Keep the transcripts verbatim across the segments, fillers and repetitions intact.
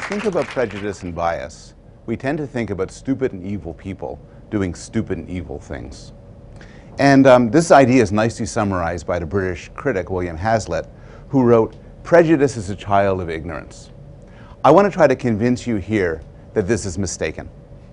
think about prejudice and bias, we tend to think about stupid and evil people doing stupid and evil things. And um, this idea is nicely summarized by the British critic William Hazlitt, who wrote, "Prejudice is a child of ignorance." I want to try to convince you here that this is mistaken.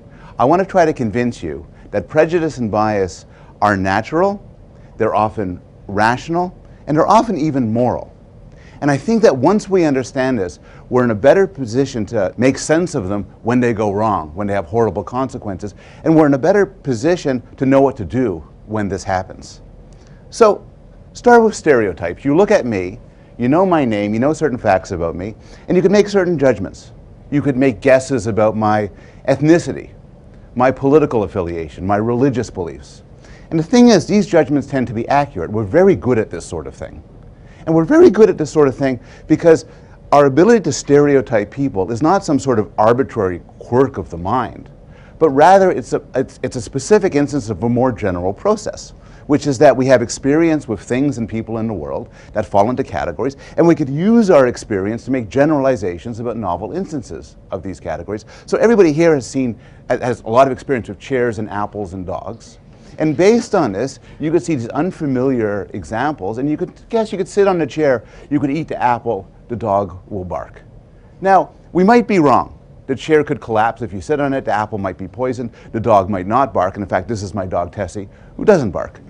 I want to try to convince you that prejudice and bias are natural, they're often rational, and they're often even moral. And I think that once we understand this, we're in a better position to make sense of them when they go wrong, when they have horrible consequences, and we're in a better position to know what to do when this happens. So, start with stereotypes. You look at me, you know my name, you know certain facts about me, and you can make certain judgments. You could make guesses about my ethnicity, my political affiliation, my religious beliefs. And the thing is, these judgments tend to be accurate. We're very good at this sort of thing. And we're very good at this sort of thing because our ability to stereotype people is not some sort of arbitrary quirk of the mind, but rather it's a, it's, it's a specific instance of a more general process, which is that we have experience with things and people in the world that fall into categories, and we could use our experience to make generalizations about novel instances of these categories. So everybody here has seen, has a lot of experience with chairs and apples and dogs. And based on this, you could see these unfamiliar examples, and you could guess you could sit on the chair, you could eat the apple, the dog will bark. Now, we might be wrong. The chair could collapse if you sit on it, the apple might be poisoned, the dog might not bark, and in fact, this is my dog Tessie, who doesn't bark.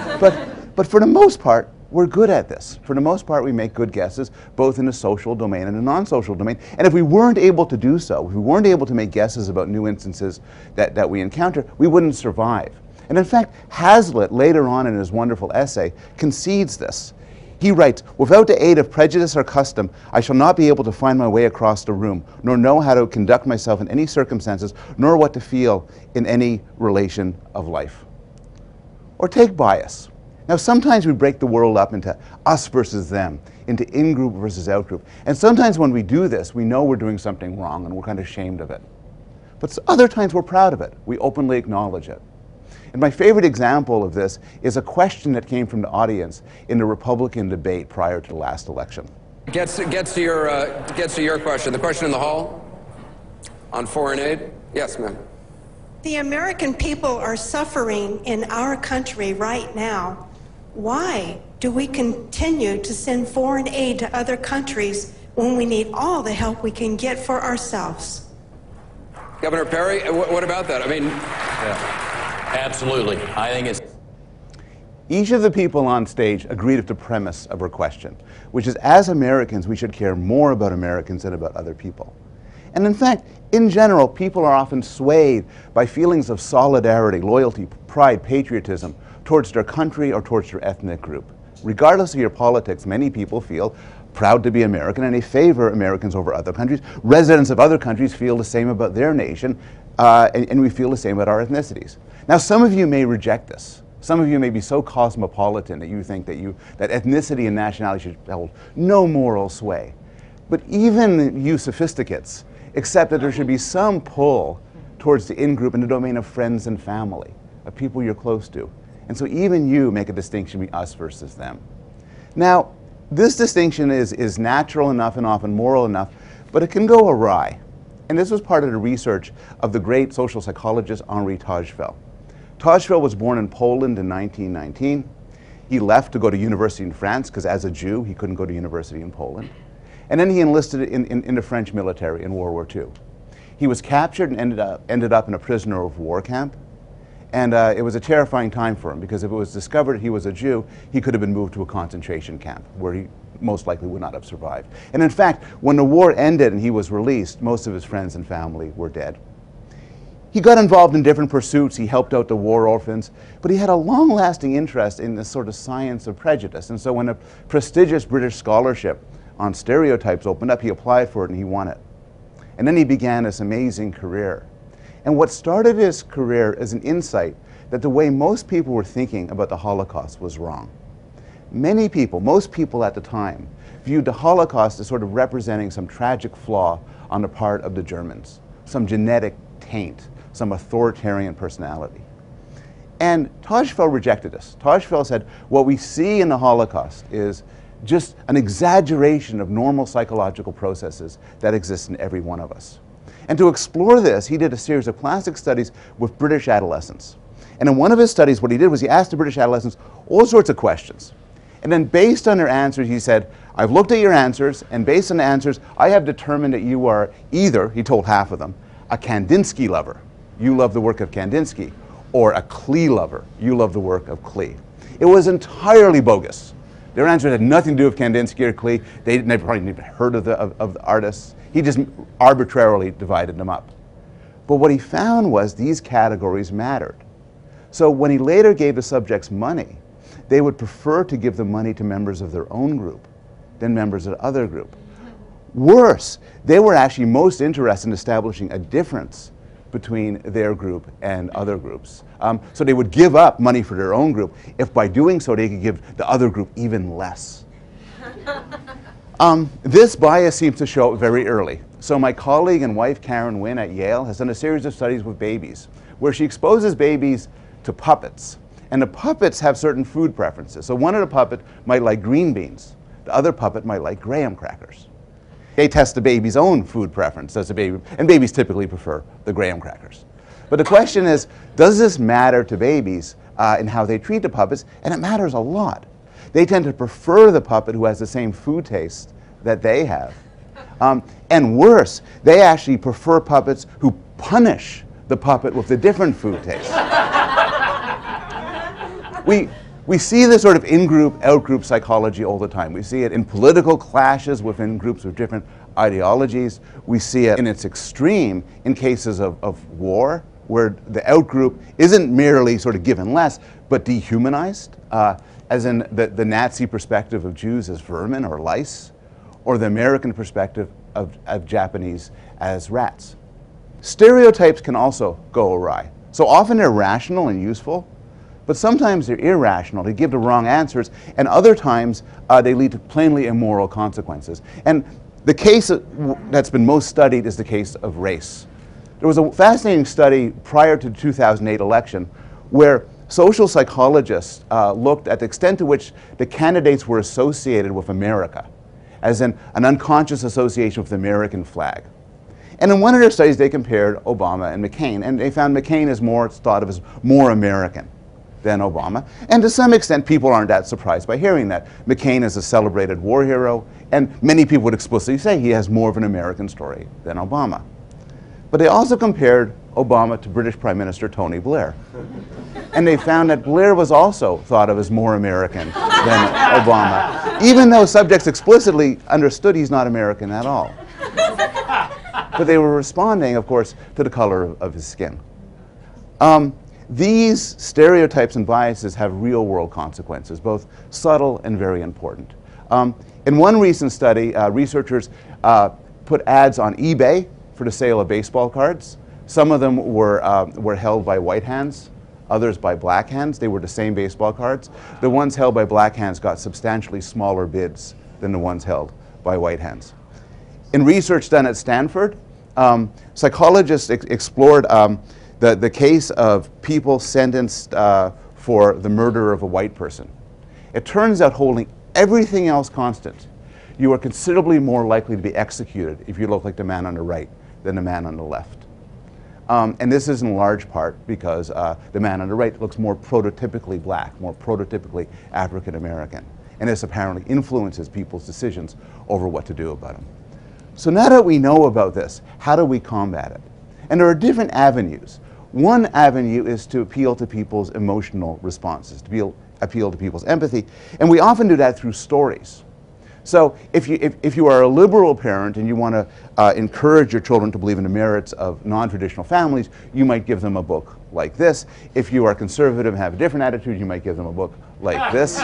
But, but for the most part, we're good at this. For the most part, we make good guesses, both in the social domain and the non-social domain. And if we weren't able to do so, if we weren't able to make guesses about new instances that, that we encounter, we wouldn't survive. And in fact, Hazlitt, later on in his wonderful essay, concedes this. He writes, "Without the aid of prejudice or custom, I shall not be able to find my way across the room, nor know how to conduct myself in any circumstances, nor what to feel in any relation of life." Or take bias. Now, sometimes we break the world up into us versus them, into in-group versus out-group. And sometimes when we do this, we know we're doing something wrong and we're kind of ashamed of it. But other times we're proud of it. We openly acknowledge it. And my favorite example of this is a question that came from the audience in the Republican debate prior to the last election. Gets to, gets to your uh, gets to your question. The question in the hall on foreign aid. Yes, ma'am. The American people are suffering in our country right now. Why do we continue to send foreign aid to other countries when we need all the help we can get for ourselves? Governor Perry, what about that? I mean, yeah. Absolutely. I think it's... Each of the people on stage agreed with the premise of her question, which is, as Americans, we should care more about Americans than about other people. And in fact, in general, people are often swayed by feelings of solidarity, loyalty, pride, patriotism towards their country or towards their ethnic group. Regardless of your politics, many people feel proud to be American and they favor Americans over other countries. Residents of other countries feel the same about their nation, uh, and, and we feel the same about our ethnicities. Now, some of you may reject this. Some of you may be so cosmopolitan that you think that, you, that ethnicity and nationality should hold no moral sway. But even you sophisticates accept that there should be some pull towards the in-group in the domain of friends and family, of people you're close to. And so even you make a distinction between us versus them. Now, this distinction is, is natural enough and often moral enough, but it can go awry. And this was part of the research of the great social psychologist Henri Tajfel. Tajfel was born in Poland in nineteen nineteen. He left to go to university in France because as a Jew, he couldn't go to university in Poland. And then he enlisted in, in, in the French military in World War Two. He was captured and ended up, ended up in a prisoner of war camp. And uh, it was a terrifying time for him because if it was discovered he was a Jew, he could have been moved to a concentration camp where he most likely would not have survived. And in fact, when the war ended and he was released, most of his friends and family were dead. He got involved in different pursuits. He helped out the war orphans, but he had a long-lasting interest in this sort of science of prejudice. And so when a prestigious British scholarship on stereotypes opened up, he applied for it and he won it. And then he began this amazing career. And what started his career is an insight that the way most people were thinking about the Holocaust was wrong. Many people, most people at the time, viewed the Holocaust as sort of representing some tragic flaw on the part of the Germans, some genetic taint, some authoritarian personality. And Tajfel rejected this. Tajfel said, what we see in the Holocaust is just an exaggeration of normal psychological processes that exist in every one of us. And to explore this, he did a series of classic studies with British adolescents. And in one of his studies, what he did was he asked the British adolescents all sorts of questions. And then based on their answers, he said, I've looked at your answers, and based on the answers, I have determined that you are either, he told half of them, a Kandinsky lover, you love the work of Kandinsky, or a Klee lover, you love the work of Klee. It was entirely bogus. Their answers had nothing to do with Kandinsky or Klee. They never probably even heard of the, of, of the artists. He just arbitrarily divided them up. But what he found was these categories mattered. So when he later gave the subjects money, they would prefer to give the money to members of their own group than members of the other group. Worse, they were actually most interested in establishing a difference between their group and other groups. Um, so they would give up money for their own group if by doing so they could give the other group even less. um, this bias seems to show up very early. So my colleague and wife Karen Wynn at Yale has done a series of studies with babies where she exposes babies to puppets. And the puppets have certain food preferences. So one of the puppets might like green beans. The other puppet might like graham crackers. They test the baby's own food preference, does the baby, and babies typically prefer the graham crackers. But the question is, does this matter to babies uh, in how they treat the puppets? And it matters a lot. They tend to prefer the puppet who has the same food taste that they have. Um, and worse, they actually prefer puppets who punish the puppet with the different food taste. we, we see this sort of in-group, out-group psychology all the time. We see it in political clashes within groups with different ideologies. We see it in its extreme in cases of, of war, where the out-group isn't merely sort of given less, but dehumanized, uh, as in the, the Nazi perspective of Jews as vermin or lice, or the American perspective of, of Japanese as rats. Stereotypes can also go awry. So often they're rational and useful, but sometimes they're irrational. They give the wrong answers, and other times uh, they lead to plainly immoral consequences. And the case that's been most studied is the case of race. There was a fascinating study prior to the two thousand eight election where social psychologists uh, looked at the extent to which the candidates were associated with America, as in an unconscious association with the American flag. And in one of their studies, they compared Obama and McCain, and they found McCain is more thought of as more American than Obama. And to some extent, people aren't that surprised by hearing that. McCain is a celebrated war hero, and many people would explicitly say he has more of an American story than Obama. But they also compared Obama to British Prime Minister Tony Blair. And they found that Blair was also thought of as more American than Obama, even though subjects explicitly understood he's not American at all. But they were responding, of course, to the color of, of his skin. Um, these stereotypes and biases have real-world consequences, both subtle and very important. Um, in one recent study, uh, researchers uh, put ads on eBay for the sale of baseball cards. Some of them were, uh, were held by white hands, others by black hands. They were the same baseball cards. The ones held by black hands got substantially smaller bids than the ones held by white hands. In research done at Stanford, um, psychologists ex explored um, the, the case of people sentenced uh, for the murder of a white person. It turns out, holding everything else constant, you are considerably more likely to be executed if you look like the man on the right than the man on the left. Um, and this is in large part because uh, the man on the right looks more prototypically black, more prototypically African American. And this apparently influences people's decisions over what to do about him. So now that we know about this, how do we combat it? And there are different avenues. One avenue is to appeal to people's emotional responses, to appeal, appeal to people's empathy. And we often do that through stories. So if you, if, if you are a liberal parent and you want to uh, encourage your children to believe in the merits of non-traditional families, you might give them a book like this. If you are conservative and have a different attitude, you might give them a book like this.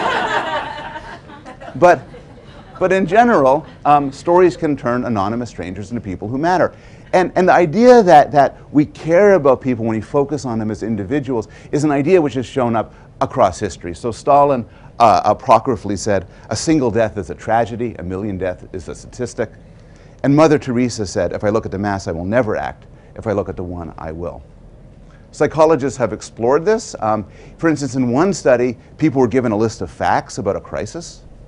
but, but in general, um, stories can turn anonymous strangers into people who matter. And, and the idea that, that we care about people when we focus on them as individuals is an idea which has shown up across history. So Stalin uh, apocryphally said, a single death is a tragedy, a million deaths is a statistic. And Mother Teresa said, if I look at the mass, I will never act. If I look at the one, I will. Psychologists have explored this. Um, for instance, in one study, people were given a list of facts about a crisis.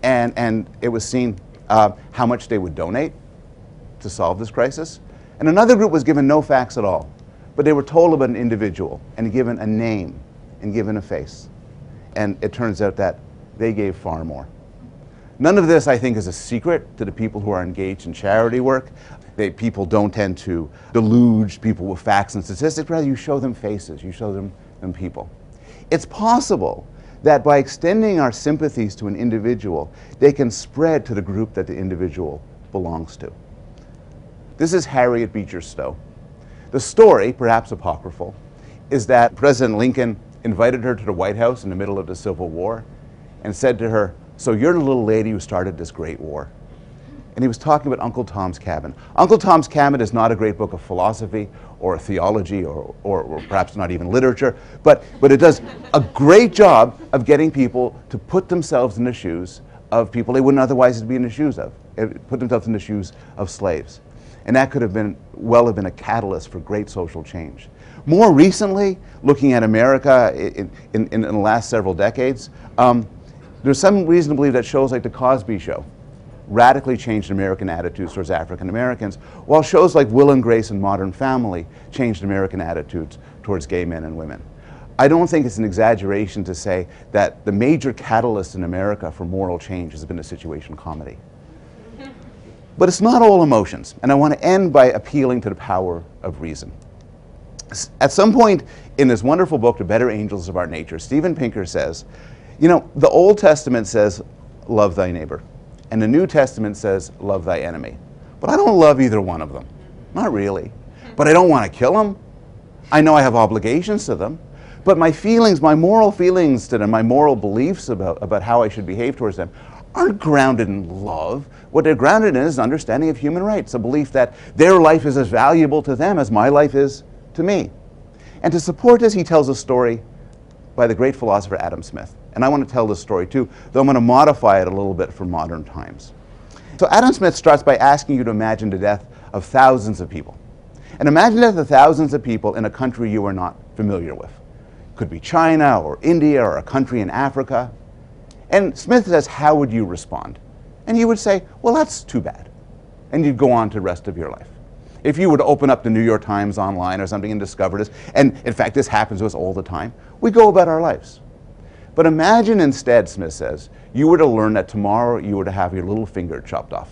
and, and it was seen uh, how much they would donate to solve this crisis. And another group was given no facts at all, but they were told about an individual and given a name and given a face. And it turns out that they gave far more. None of this, I think, is a secret to the people who are engaged in charity work. They, people don't tend to deluge people with facts and statistics. Rather, you show them faces, you show them, them people. It's possible that by extending our sympathies to an individual, they can spread to the group that the individual belongs to. This is Harriet Beecher Stowe. The story, perhaps apocryphal, is that President Lincoln invited her to the White House in the middle of the Civil War and said to her, "So you're the little lady who started this great war." And he was talking about Uncle Tom's Cabin. Uncle Tom's Cabin is not a great book of philosophy or theology or, or, or perhaps not even literature, but, but it does a great job of getting people to put themselves in the shoes of people they wouldn't otherwise be in the shoes of, put themselves in the shoes of slaves. And that could have been, well have been a catalyst for great social change. More recently, looking at America in, in, in the last several decades, um, there's some reason to believe that shows like The Cosby Show radically changed American attitudes towards African Americans, while shows like Will and Grace and Modern Family changed American attitudes towards gay men and women. I don't think it's an exaggeration to say that the major catalyst in America for moral change has been a situation comedy. But it's not all emotions, and I want to end by appealing to the power of reason. At some point in this wonderful book, The Better Angels of Our Nature, Steven Pinker says, you know, the Old Testament says, love thy neighbor, and the New Testament says, love thy enemy. But I don't love either one of them. Not really. But I don't want to kill them. I know I have obligations to them. But my feelings, my moral feelings to them, my moral beliefs about, about how I should behave towards them aren't grounded in love. What they're grounded in is an understanding of human rights, a belief that their life is as valuable to them as my life is to me. And to support this, he tells a story by the great philosopher Adam Smith. And I want to tell this story too, though I'm going to modify it a little bit for modern times. So Adam Smith starts by asking you to imagine the death of thousands of people. And imagine the death of thousands of people in a country you are not familiar with. It could be China or India or a country in Africa. And Smith says, how would you respond? And you would say, well, that's too bad. And you'd go on to the rest of your life. If you were to open up the New York Times online or something and discover this, and in fact this happens to us all the time, we go about our lives. But imagine instead, Smith says, you were to learn that tomorrow you were to have your little finger chopped off.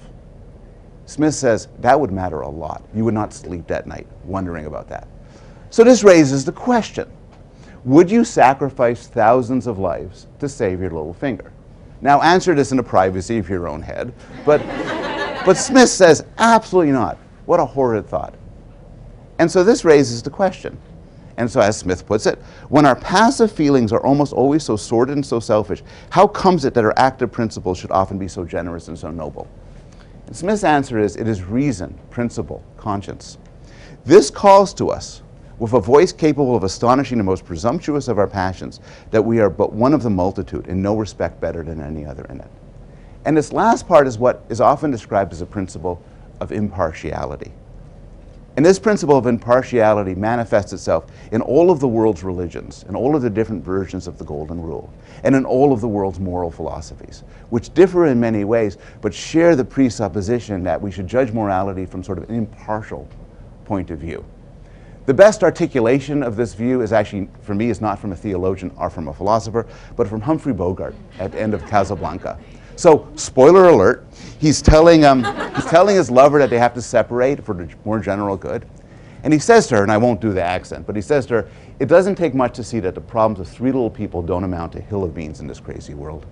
Smith says that would matter a lot. You would not sleep that night wondering about that. So this raises the question, would you sacrifice thousands of lives to save your little finger? Now answer this in the privacy of your own head, but, but Smith says absolutely not. What a horrid thought. And so this raises the question. And so as Smith puts it, when our passive feelings are almost always so sordid and so selfish, how comes it that our active principles should often be so generous and so noble? And Smith's answer is, it is reason, principle, conscience. This calls to us, with a voice capable of astonishing the most presumptuous of our passions, that we are but one of the multitude, in no respect better than any other in it. And this last part is what is often described as a principle of impartiality. And this principle of impartiality manifests itself in all of the world's religions, in all of the different versions of the Golden Rule, and in all of the world's moral philosophies, which differ in many ways, but share the presupposition that we should judge morality from sort of an impartial point of view. The best articulation of this view is actually, for me, is not from a theologian or from a philosopher, but from Humphrey Bogart at the end of Casablanca. So, spoiler alert, he's telling, um, he's telling his lover that they have to separate for the more general good. And he says to her, and I won't do the accent, but he says to her, it doesn't take much to see that the problems of three little people don't amount to a hill of beans in this crazy world.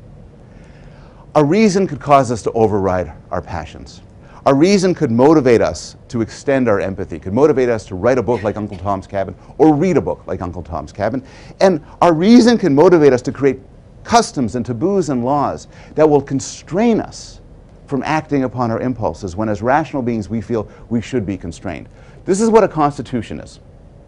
A reason could cause us to override our passions. A reason could motivate us to extend our empathy, could motivate us to write a book like Uncle Tom's Cabin, or read a book like Uncle Tom's Cabin. And our reason can motivate us to create customs and taboos and laws that will constrain us from acting upon our impulses when as rational beings we feel we should be constrained. This is what a constitution is.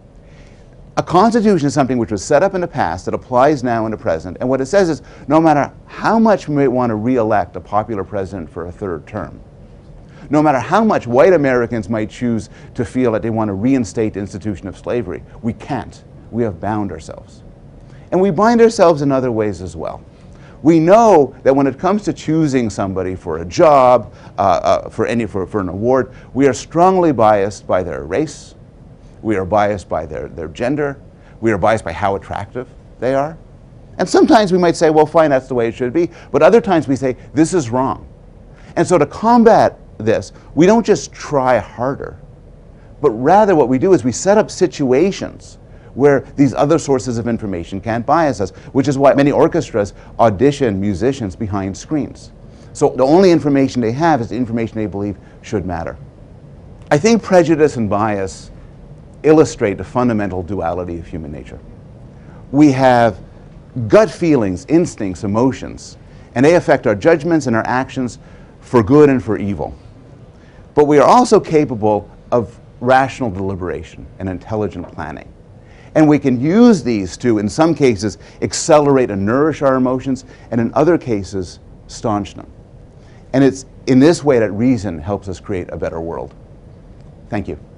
A constitution is something which was set up in the past that applies now in the present, and what it says is no matter how much we may want to re-elect a popular president for a third term, no matter how much white Americans might choose to feel that they want to reinstate the institution of slavery, we can't. We have bound ourselves. And we bind ourselves in other ways as well. We know that when it comes to choosing somebody for a job, uh, uh, for, any, for, for an award, we are strongly biased by their race, we are biased by their, their gender, we are biased by how attractive they are. And sometimes we might say, well, fine, that's the way it should be. But other times we say, this is wrong. And so to combat this, we don't just try harder, but rather what we do is we set up situations where these other sources of information can't bias us, which is why many orchestras audition musicians behind screens. So the only information they have is the information they believe should matter. I think prejudice and bias illustrate the fundamental duality of human nature. We have gut feelings, instincts, emotions, and they affect our judgments and our actions for good and for evil. But we are also capable of rational deliberation and intelligent planning. And we can use these to, in some cases, accelerate and nourish our emotions, and in other cases, staunch them. And it's in this way that reason helps us create a better world. Thank you.